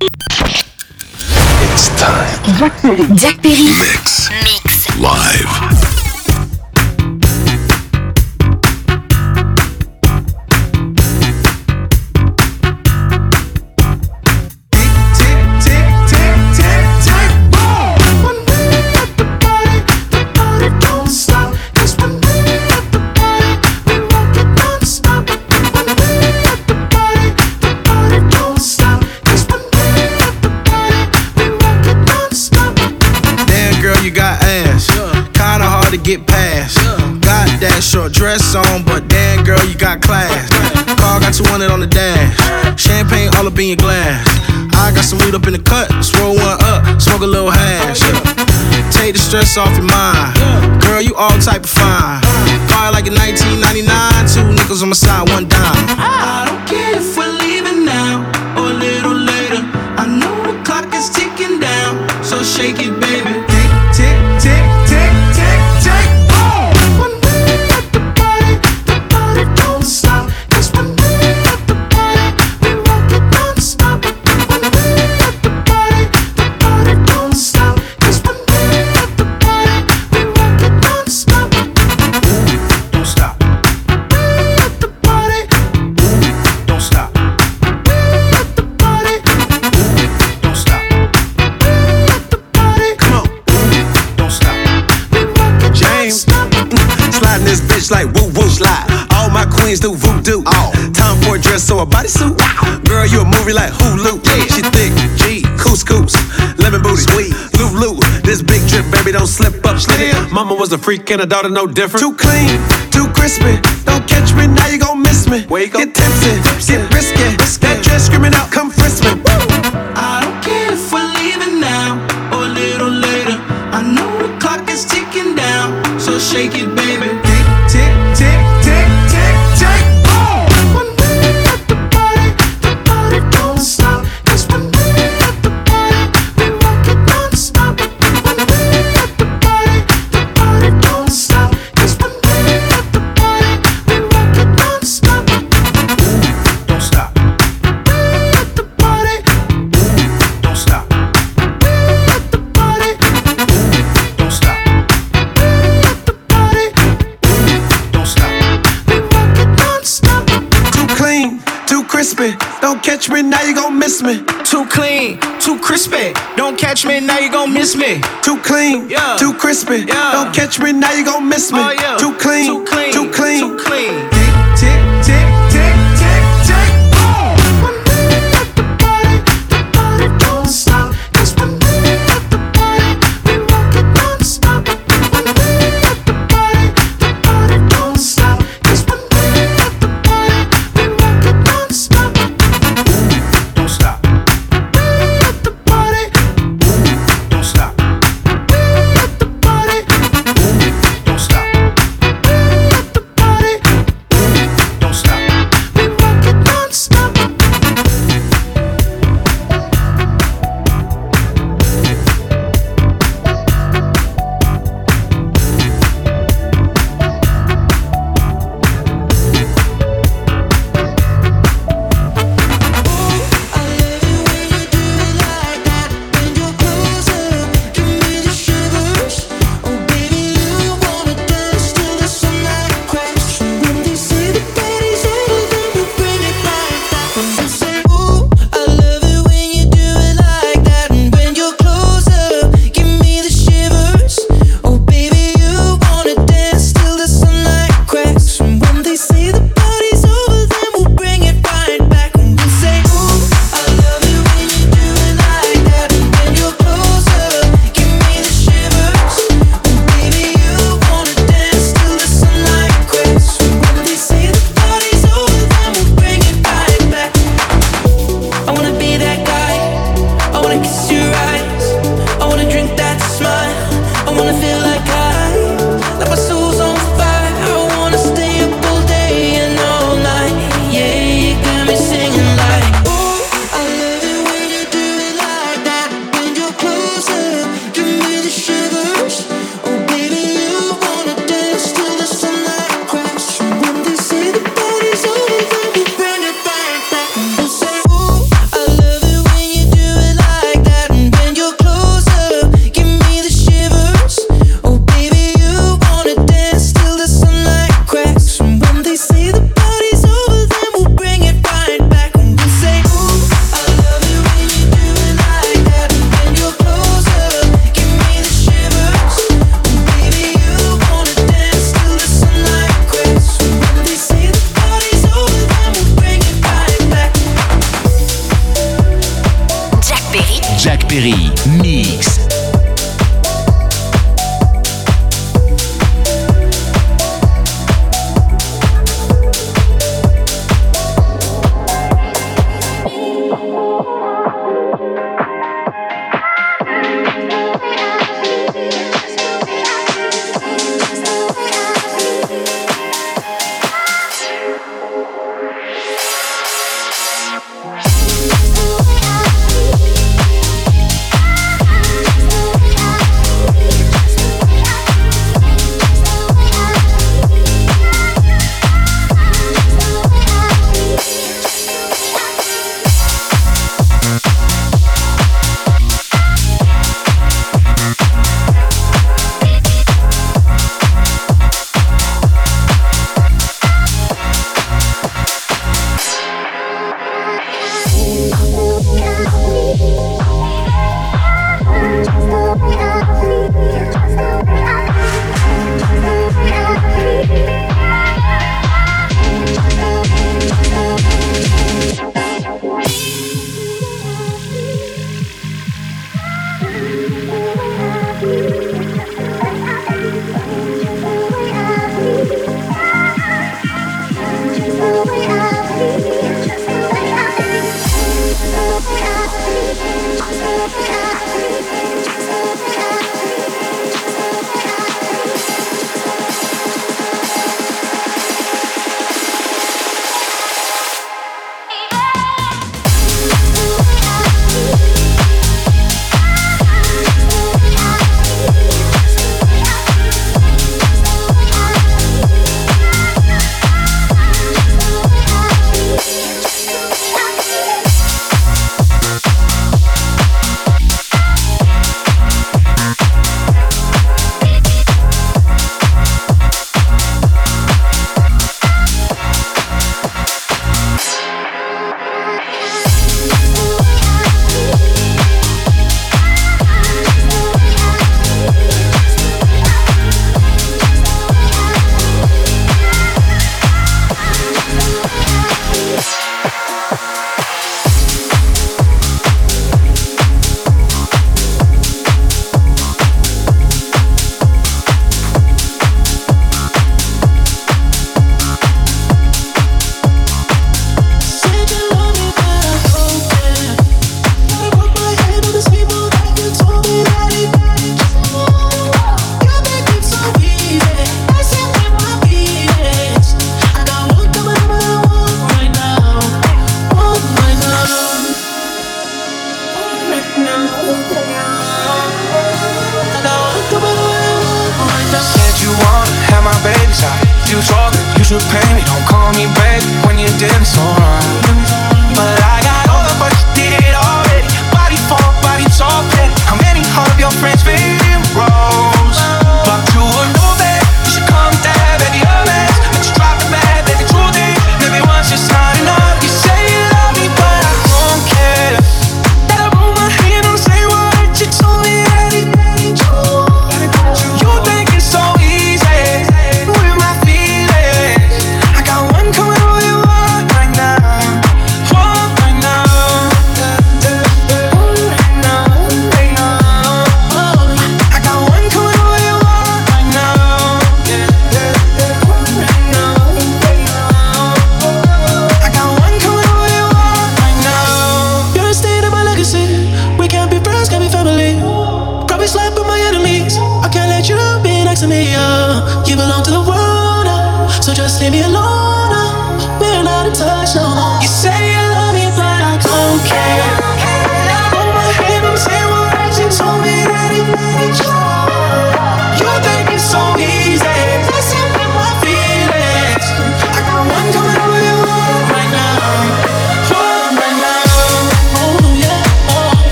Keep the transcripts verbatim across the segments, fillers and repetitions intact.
It's time. Jack Perry. Jack Perry. Mix. Mix. Live. Get past. Got that short dress on, but damn girl, you got class. Car got two hundred on the dash. Champagne all up in your glass. I got some weed up in the cut. Swirl one up, smoke a little hash. Take the stress off your mind. Girl, you all type of fine. Car like in nineteen ninety-nine. Two nickels on my side, one dime. I don't care if we're leaving now or a little later. I know the clock is ticking down, so shake it, baby. Tick, tick, tick, tick, tick. Like woo woo slide. All my queens do voodoo. Oh. Time for a dress or a bodysuit. Wow. Girl, you a movie like Hulu. Yeah. She thick, G, couscous, lemon booty, sweet, Lulu. This big drip, baby, don't slip up, slip it. Mama was a freak and a daughter no different. Too clean, too crispy. Don't catch me, now you gon' miss me. Wake get tipsy, get risky. That dress screaming out, come frisk me. I don't care if we're leaving now or a little later. I know the clock is ticking down, so shake it, baby. Tick, tick, tick, tick, tick, boom! When we at the party, the party don't stop. 'Cause when we at the party, we rock it non-stop. When we at the party, the party don't stop. 'Cause when we at the party, we rock it non-stop. Ooh, don't stop. We at the party. Ooh, don't stop. We at the party. Ooh, don't stop. We at the party. Don't stop. We rock it non-stop. Too clean, too crispy. Don't catch me, now you gon' miss me. Too clean, too crispy. Don't catch me, now you gon' miss me. Too clean, yeah. Too crispy. Yeah. Don't catch me, now you gon' miss me. Oh, yeah. Too clean, too clean, too clean, too clean. Tick, tick, tick, tick, tick, tick. Boom! When we at the party, the party don't stop. 'Cause when we at the party, we rock it non-stop. When we at the party, the party don't stop. 'Cause when we at the party, we rock it non-stop. Ooh, don't stop. We at the party. Ooh, don't stop. We at the party. Ooh, don't stop. We at the party. Jack Perry, Mix.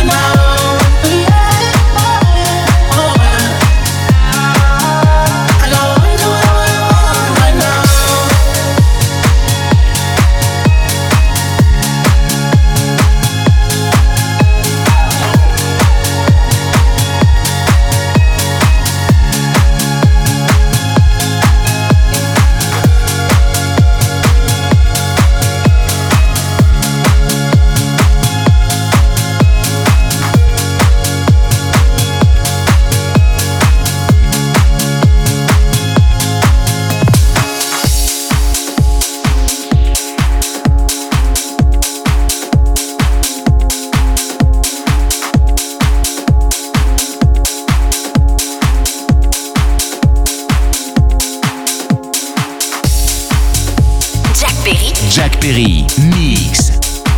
I Perry. Jack Perry, mix.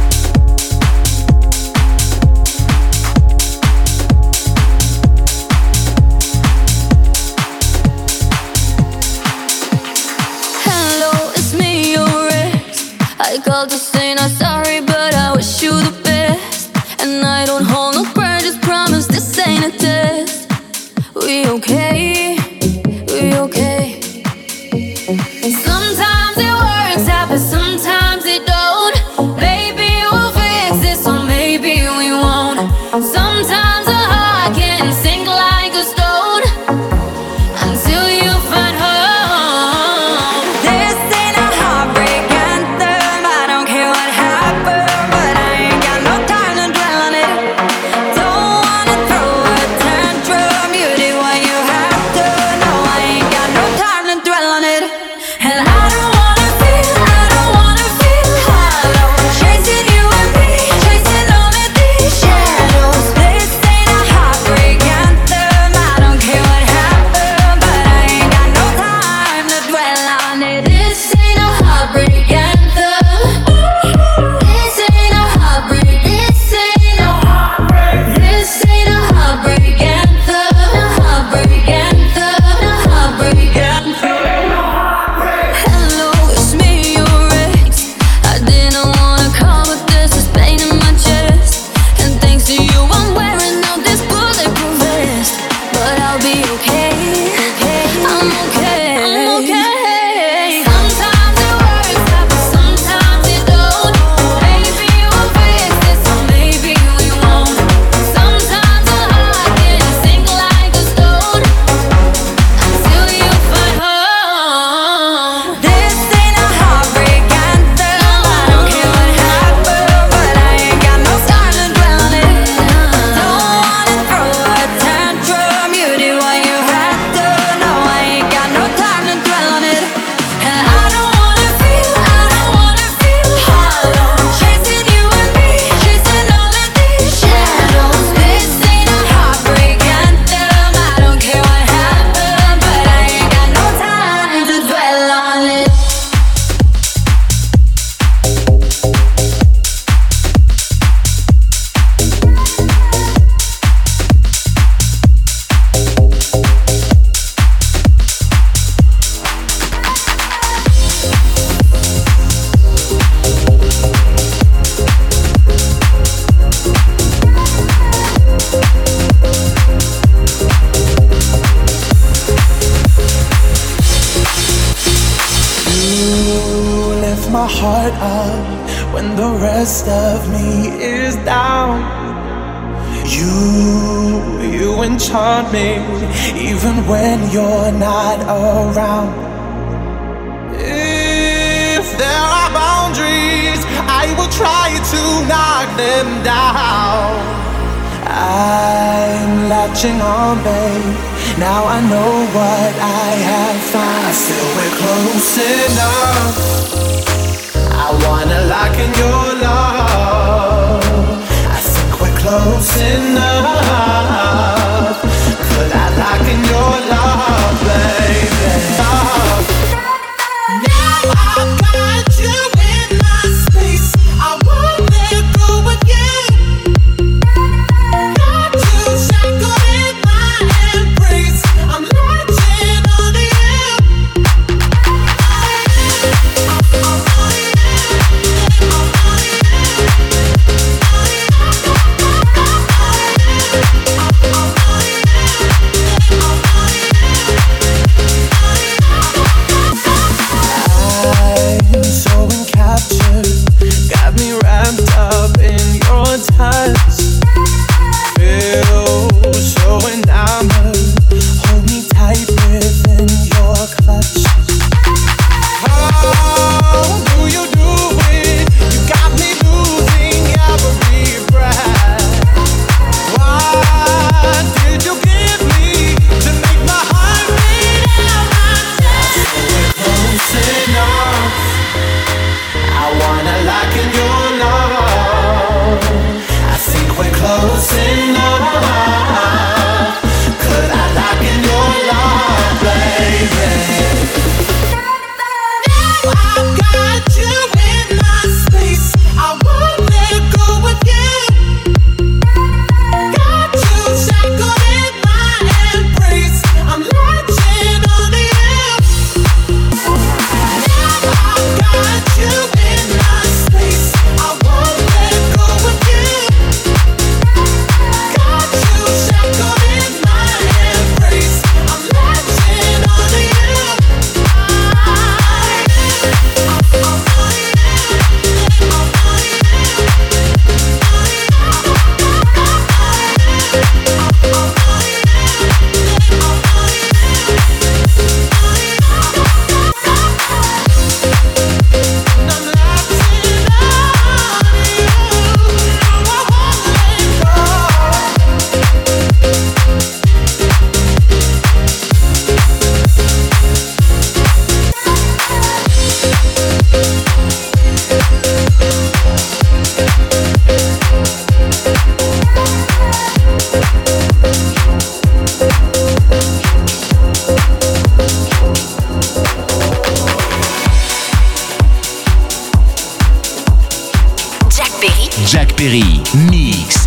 I called to say not sorry, but I wish you the best. And I don't hold no grudges, promise this ain't a test. We okay, we okay. And sometimes it works out, but sometimes it don't. Maybe we'll fix this, or maybe we won't. Sometimes a heart can sink like a stone until you find home. This ain't a heartbreak anthem. I don't care what happened, but I ain't got no time to dwell on it. Don't wanna throw a tantrum. You did what you have to. No, I ain't got no time to dwell on it. And I don't wanna feel, I don't wanna feel hollow. Chasing you and me, chasing all of these shadows. This ain't a heartbreak anthem. I don't care what happened, but I ain't got no time to dwell on it. This ain't a heartbreak anthem. This ain't a heartbreak. This ain't a heartbreak. This ain't a heartbreak anthem. A heartbreak anthem. A heartbreak anthem. Hello, it's me, your ex. I didn't wanna call, but this is pain in my chest. And thanks to you, I'm wearing out this bulletproof vest. But I'll be okay. I'm okay. I'm okay. Sometimes it works out, but sometimes it don't. Maybe we'll fix this, or maybe we won't. Sometimes a heart can sink like a stone until you find home. This ain't a heartbreak anthem. I don't care what happened, but I ain't got no time to dwell on it. Don't wanna throw a tantrum. You did what you had to. No, I ain't got no time to dwell on it. And I don't wanna feel, I don't wanna feel hollow. Chasing you and me, chasing all of these shadows. This ain't a heartbreak anthem. I don't care what happened, but I ain't got no time to dwell on it. You lift my heart up when the rest of me is down. You, you enchant me even when you're not around. If there are boundaries, I will try to knock them down. I'm latching on, babe. Now I know what I have found. I feel we're close enough. I wanna lock in your love. I think we're close enough. Could I lock in your love, baby? Oh. Now I've got you in my space. I won't let go again. Got you shackled in my embrace. I'm latching on to you. I Perry. Jack Perry, mix.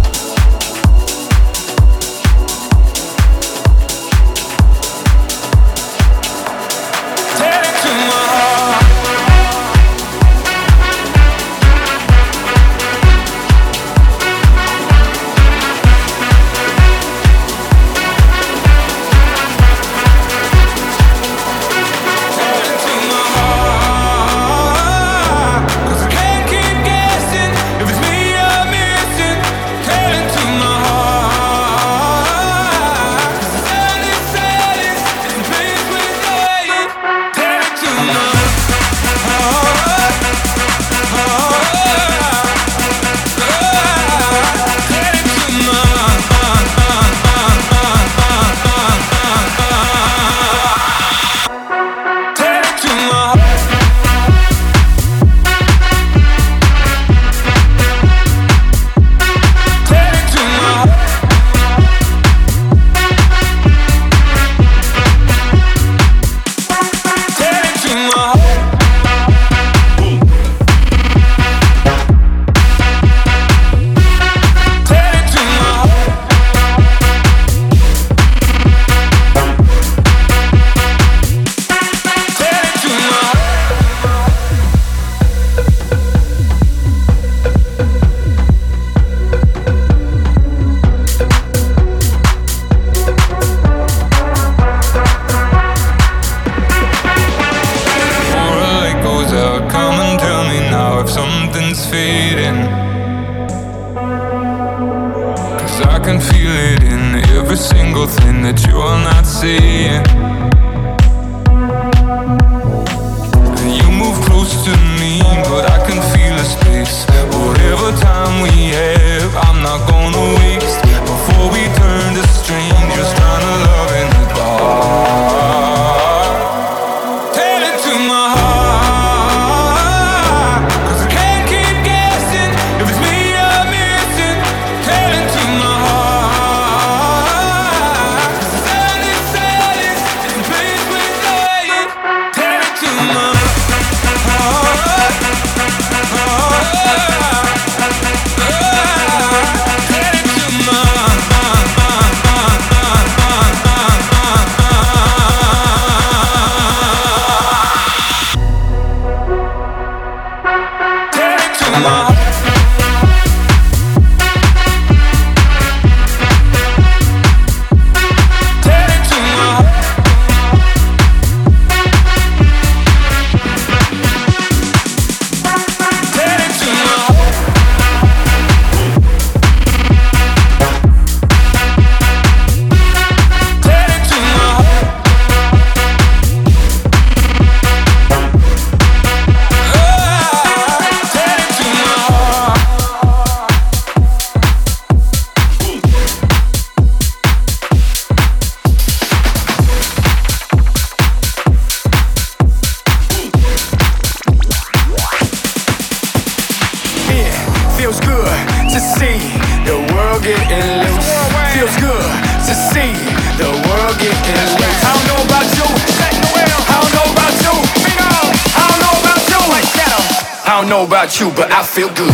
You, but I feel good.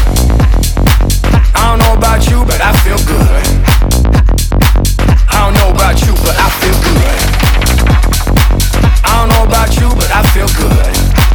I don't know about you, but I feel good. I don't know about you, but I feel good. I don't know about you, but I feel good.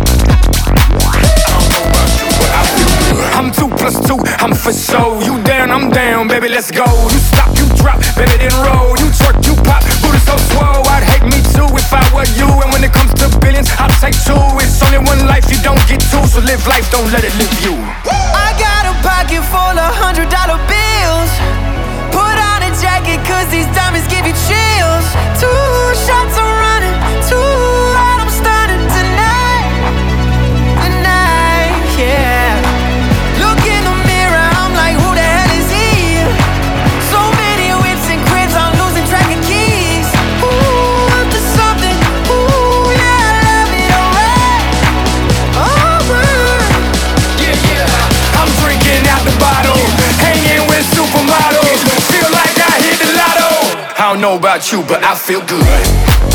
I don't know about you, but I feel good. I'm two plus two, I'm for sure. You down, I'm down, baby, let's go. You stop, you drop, baby, then roll. You twerk, you pop, booty so swole. I'd hate me too if I were you. And when it comes to billions, I'll take two. It's only one life, you don't get two, so live life, don't let it live you. I got a pocket full of hundred dollar bills. Put on a jacket, cause these diamonds give you chills. Two shots are running, two out, I'm stunning tonight. Tonight, yeah. Look in the mirror, I'm like, who the hell is he? So many whips and cribs, I'm losing track of keys. Ooh, up to something, ooh, yeah, I love it, alright. Alright. Yeah, yeah. I'm drinking out the bottle, hanging with supermodels. Feel like I hit the lotto. I don't know about you, but I feel good.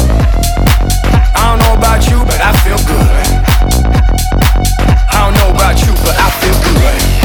I don't know about you, but I feel good. I don't know about you, but I feel good.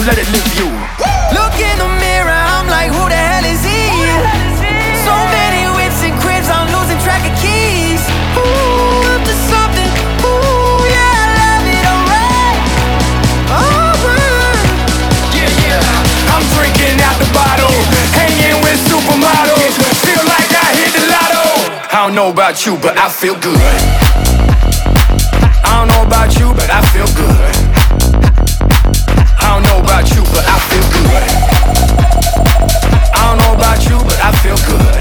let it live you. Look in the mirror, I'm like, who the hell is he? So many whips and cribs, I'm losing track of keys. Ooh, up to something. Ooh, yeah, I love it, alright. Alright. Yeah, yeah, I'm drinking out the bottle, hanging with supermodels. Feel like I hit the lotto. I don't know about you, but I feel good. I don't know about you, but I feel good. I don't know about you, but I feel good. I don't know about you, but I feel good.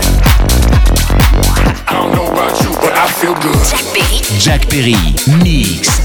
I don't know about you, but I feel good. Jack Perry. Jack Perry, mix.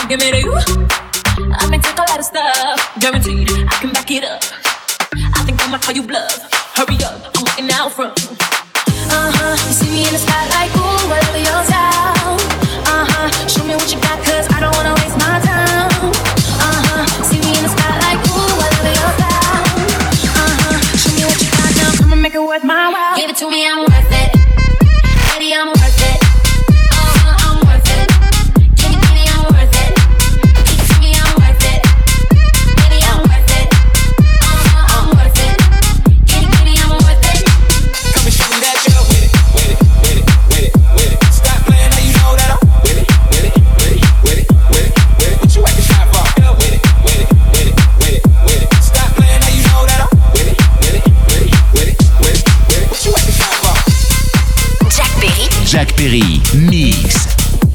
give me to you. I may take a lot of stuff, guaranteed I can back it up. I think I might call you bluff. Hurry up, I'm walking out from. Uh-huh, you see me in the spotlight, ooh, whatever your style. Uh-huh, show me what you got, cause I don't wanna waste my time. Uh-huh, see me in the spotlight, ooh, whatever your style. Uh-huh, show me what you got now, come and make it worth my while. Give it to me, I'm worth it. Baby, I'm worth it. Uh-huh, I'm worth it. Give it to me, I'm worth it. Give it to me, I'm worth it. Baby, I'm worth it. Uh-huh, I'm worth it. Give it to me, I'm worth it. Come and show me that you're with it, with it, with it, with it, with it. Stop playing, now you know that I'm with it, with it, with it, with it, with it, with it. What you acting shy for? With it, with it, with it, with it, with it. Stop playing, now you know that I'm with it, with it, with it, with it, with it, with it. What you acting shy for? Jack Perry. Jack Perry, mix.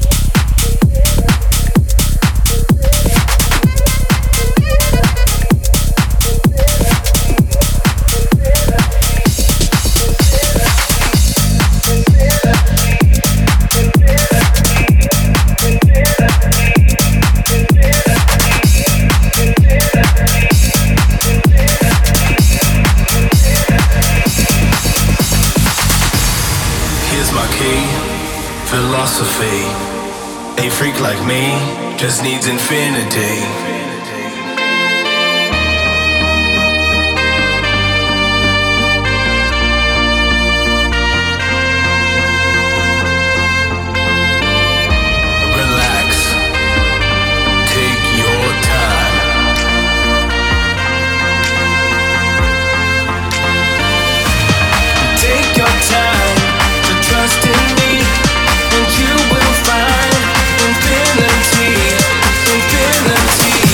Philosophy. A freak like me just needs infinity. Relax. Take your time. Take your time to trust in me. And you will find infinity, infinity.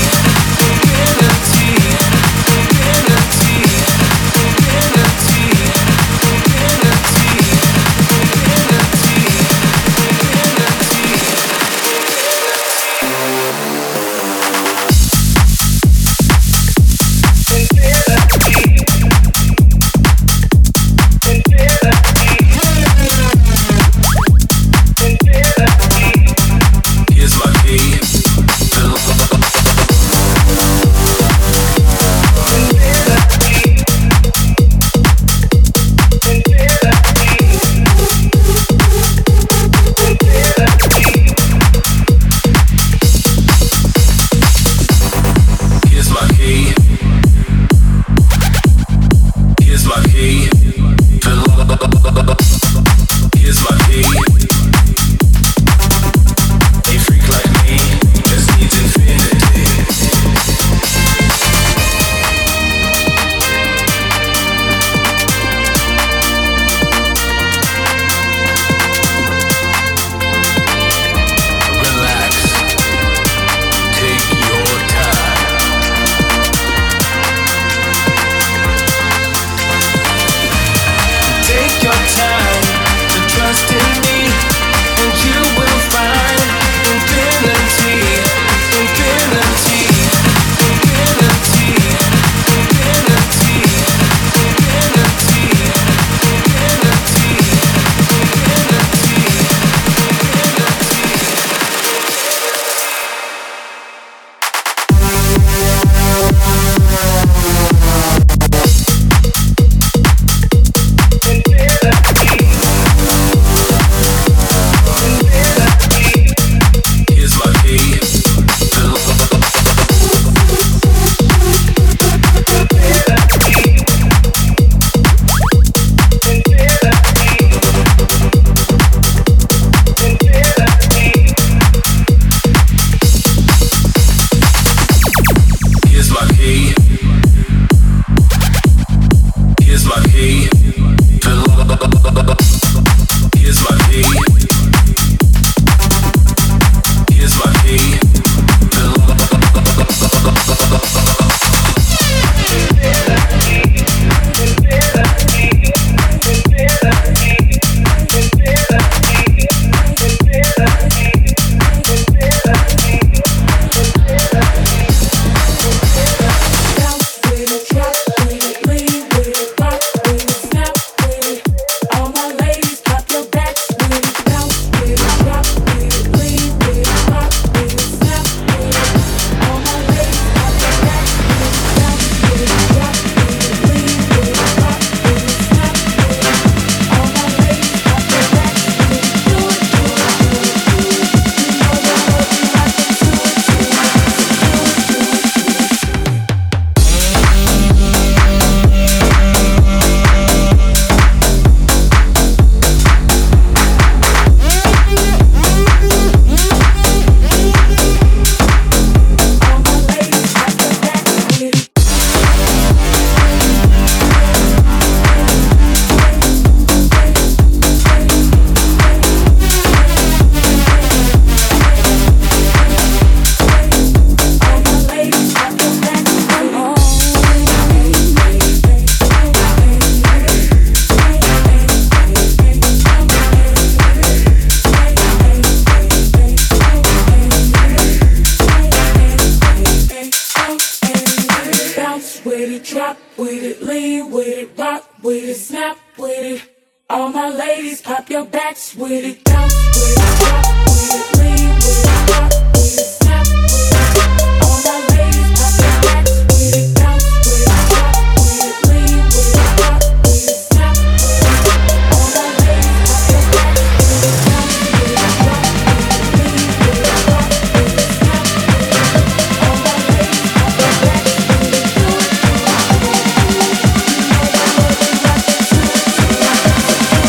drop with it, lean with it, rock with it, snap with it. All my ladies, pop your backs with it, bounce with it, drop with it, lean with it, rock with it, snap with it. All my ladies, pop your backs with it, bounce with it, drop with it, lean with it, rock with it, snap with it. All my ladies, pop your backs with it, bounce with it, drop with it, lean with it, rock with it, snap with it. All my ladies, pop your backs with it, do it, do it, do it. You know that love is like a truth, like a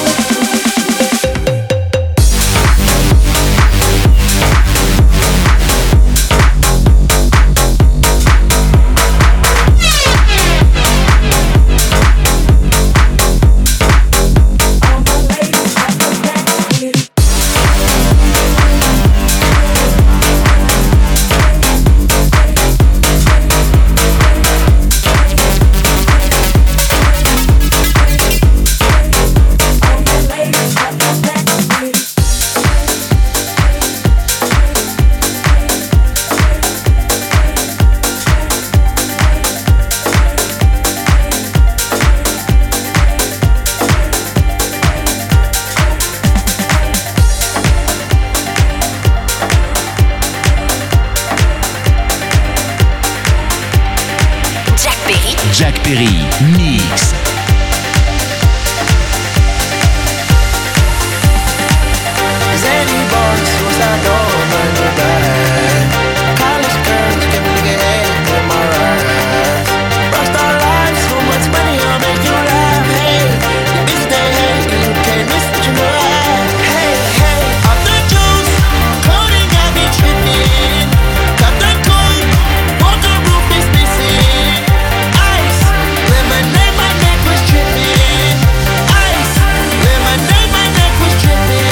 Jack Perry, mix. Zany boys, suicide door, burn your back. College girls, give a nigga head in my ride. Rockstar life, so much money, I'll make you laugh. Hey, your bitch they hate, cause you can't miss what you know at. Hey, hey, off the juice, coding got me tripping. Cut the coat, water roof is missing. Ice, lemonade, my neck was tripping. Ice, lemonade, my neck was tripping.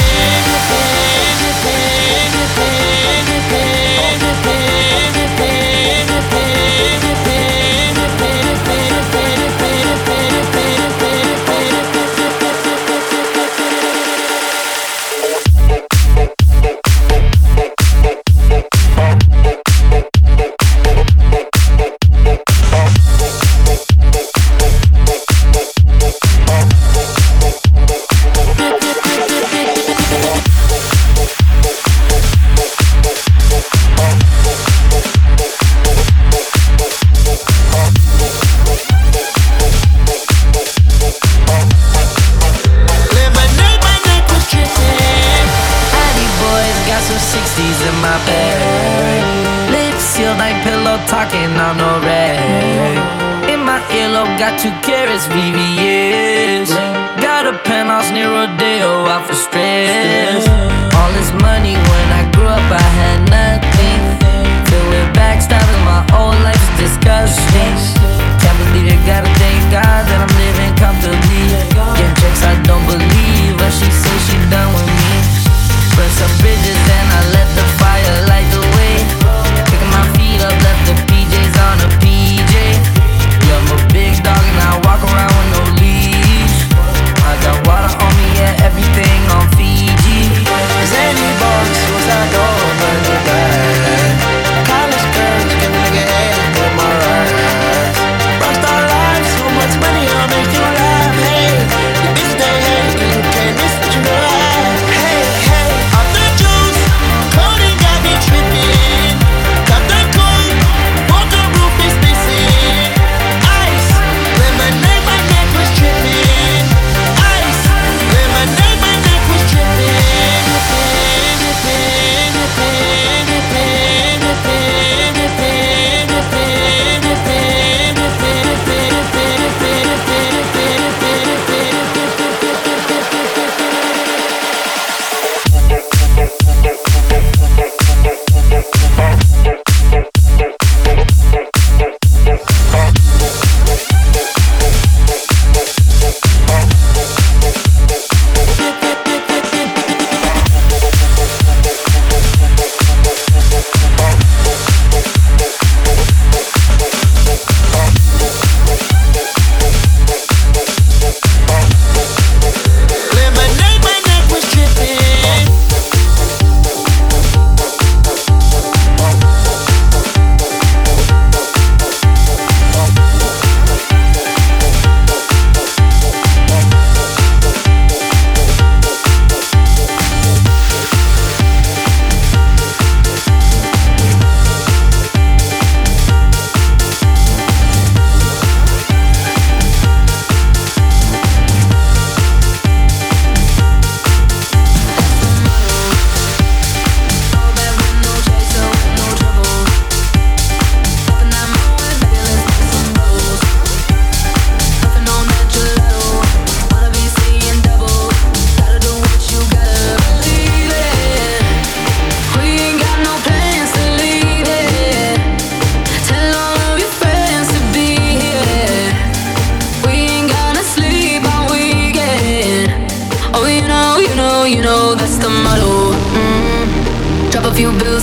sixties in my bag. Lips sealed like pillow talking on no rag. In my earlobe got two carats, V V S. Got a penthouse near Rodeo out for stress. All this money when I grew up I had nothing. Filled with backstabbing, my whole life is disgusting. Can't believe you gotta thank God that I'm living comfortably. Getting checks I don't believe, but she says she done with me. Burn some bridges and I let the fire light the way. Picking my feet up, left the P Js on a P J. Yeah, I'm a big dog and I walk around with no leash. I got water on me, yeah, everything on Fiji. Zany boys, suicide door, burn the back.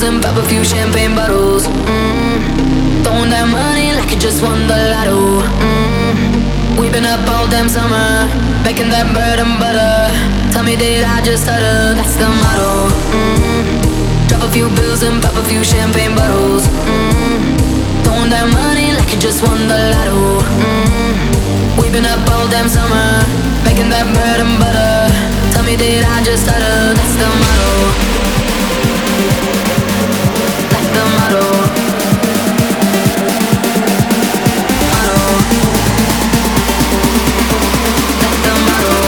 and pop a few champagne bottles. Mm. Throwing that money like you just won the lotto. Mm. We've been up all damn summer, making that bread and butter. Tell me, did I just stutter? That's the motto. Mm. Drop a few bills and pop a few champagne bottles. Mm. Throwing that money like you just won the lotto. Mm. We've been up all damn summer, making that bread and butter. Tell me, did I just stutter? That's the motto. That's the motto. Motto. That's the motto.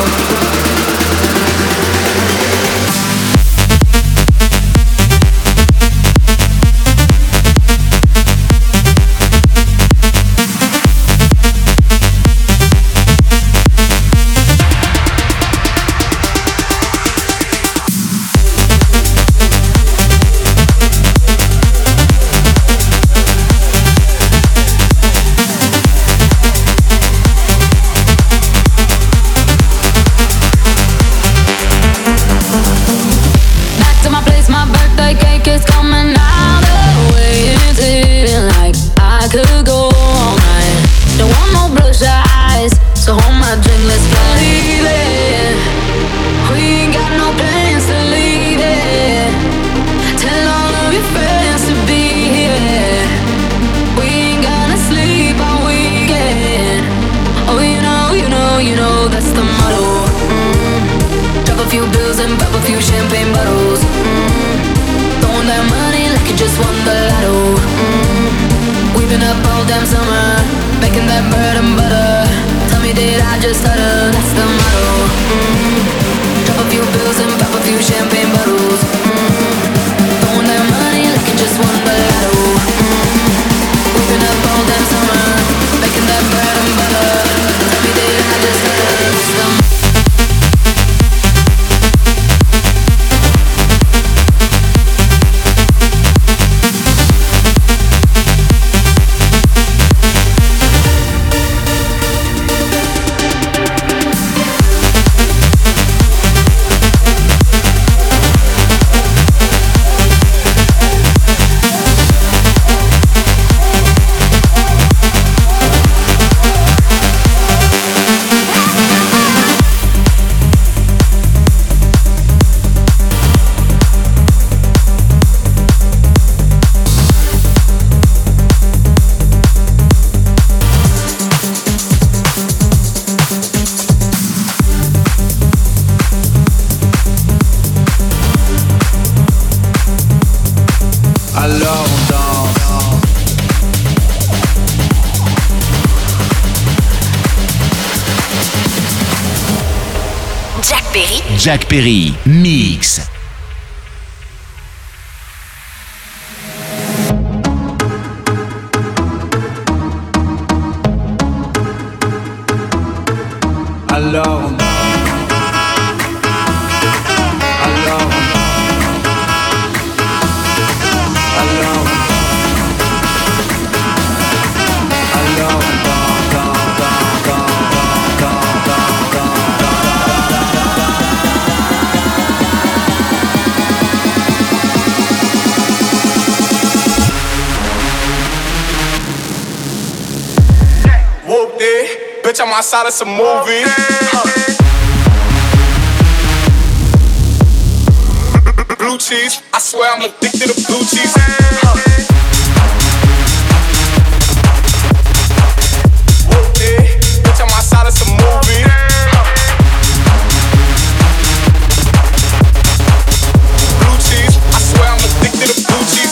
Jack Perry, mix. Alone. Alone. Alone. Alone. Whoop it, bitch, I'm outside of some movie. Blue cheese, I swear I'm addicted to blue cheese. Whoop it, bitch, I'm outside of some movie. Blue cheese, I swear I'm addicted to blue cheese.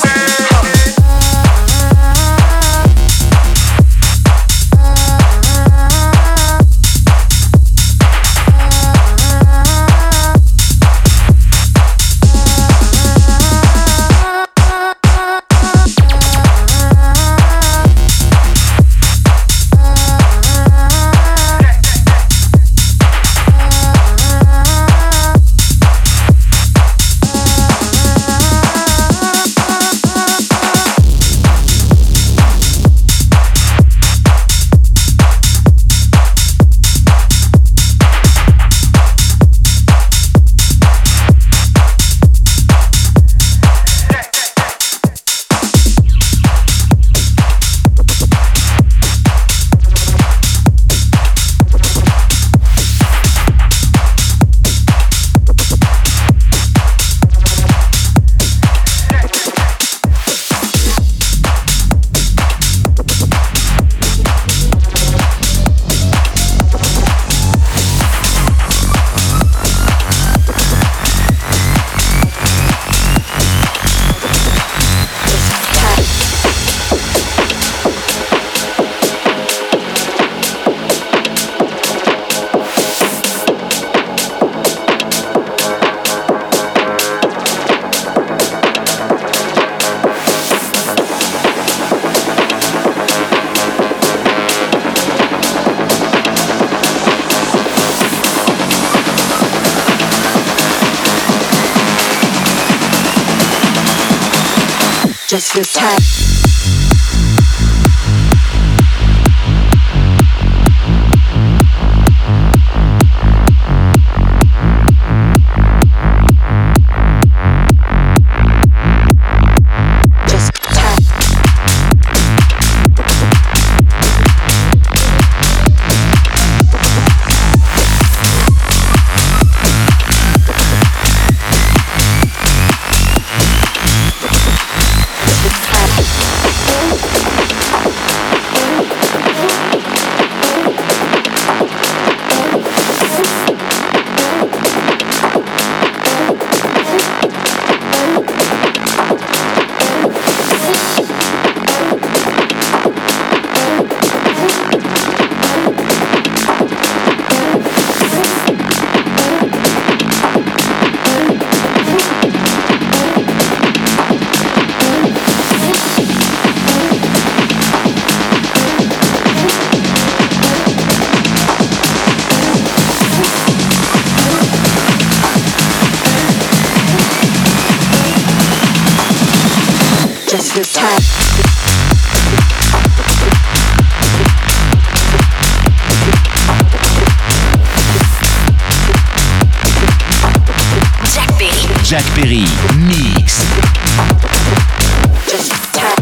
Just feels tight. Just feels tight. Jack Perry. Jack Perry. Mix. Just tight.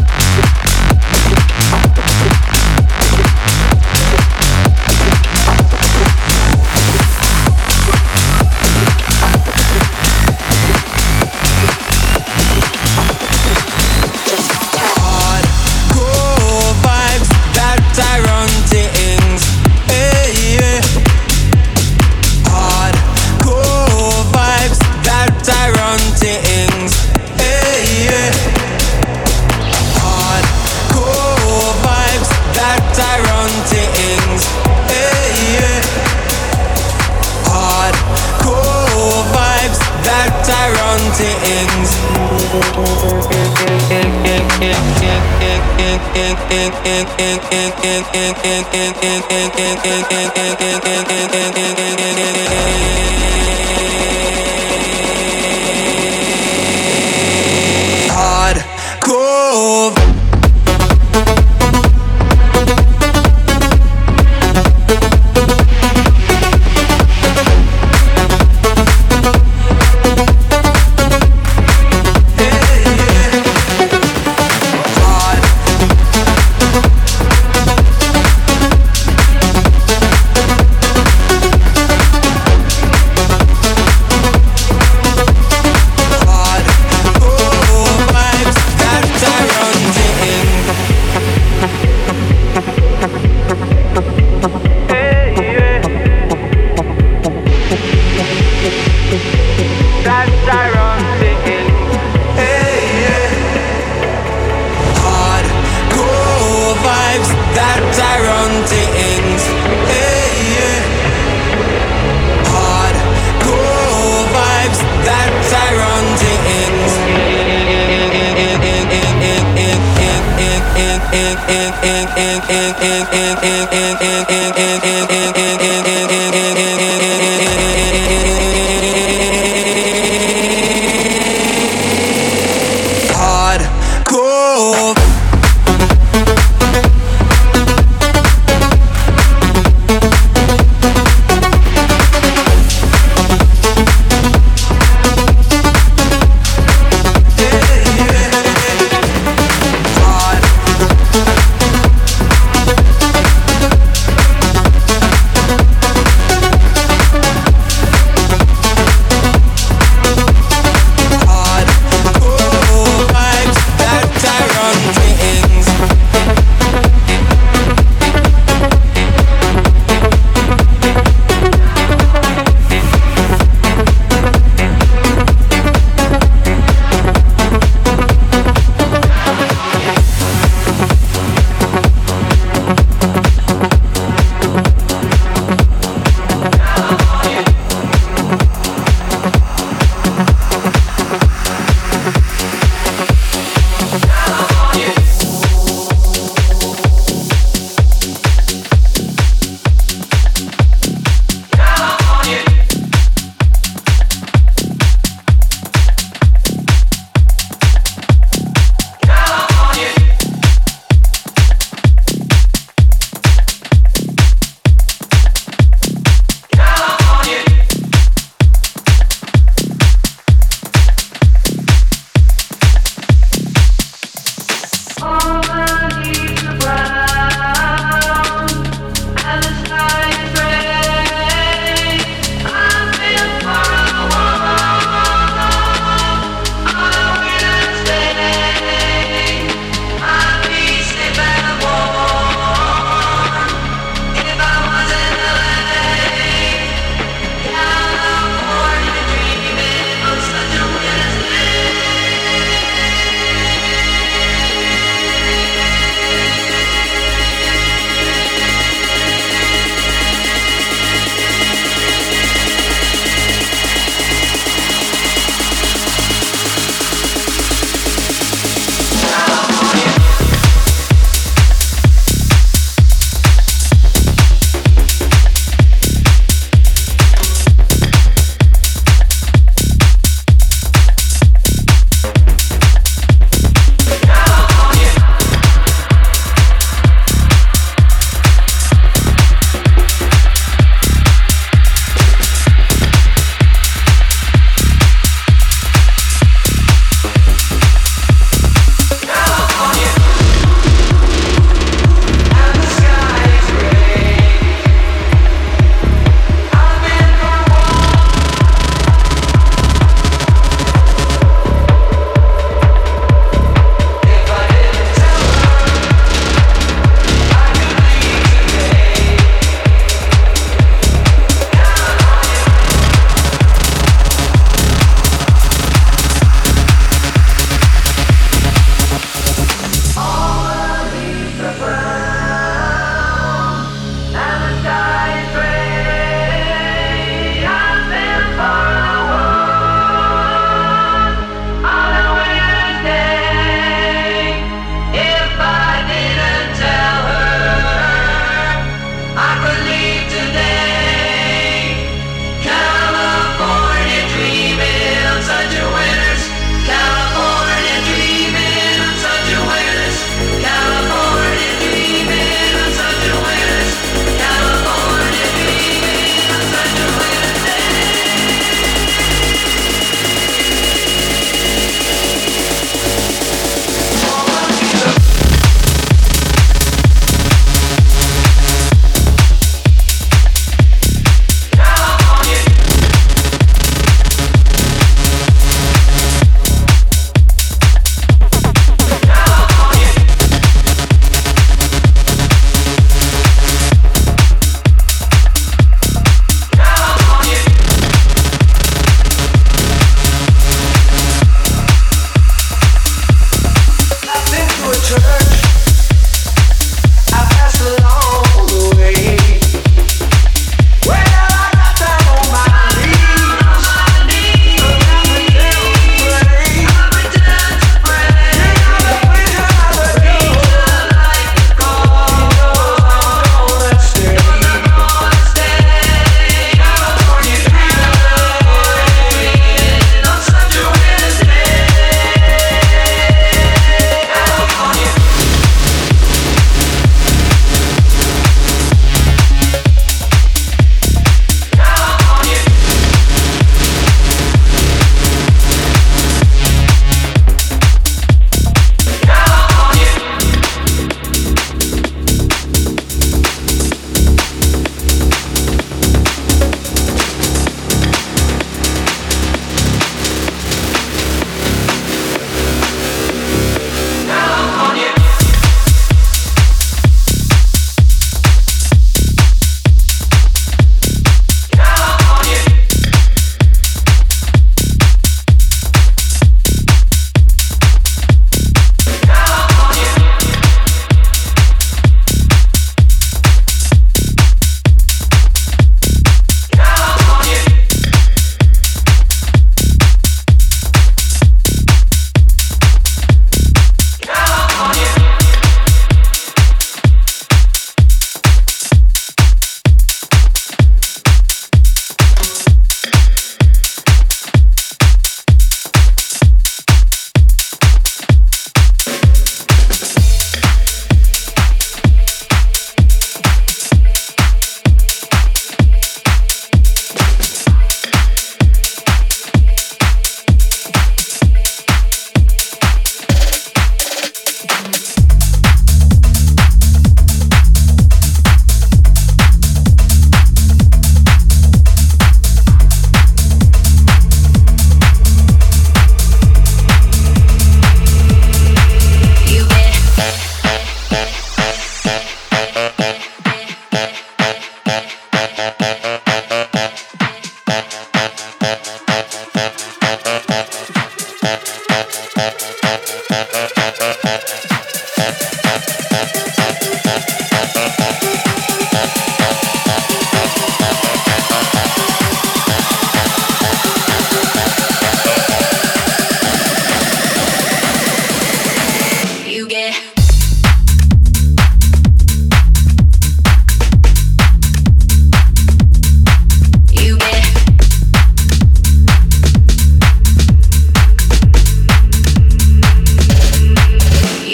That Tyrone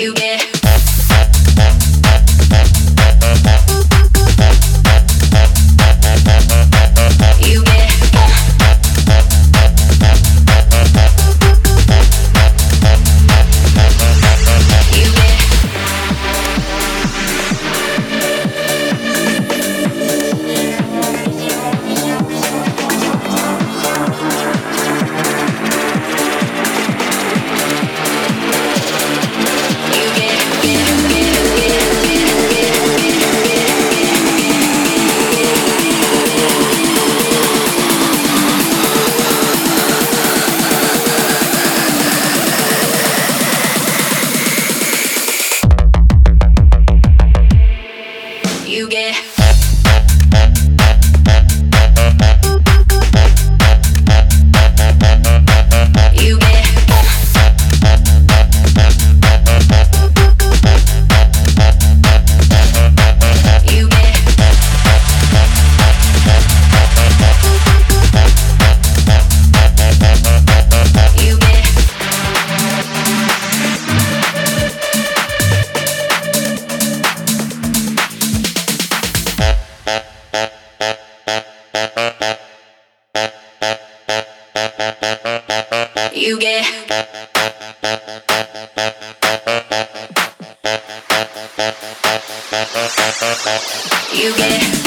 You get. You get. You get. You get. You get. You get. You get. You get. You get.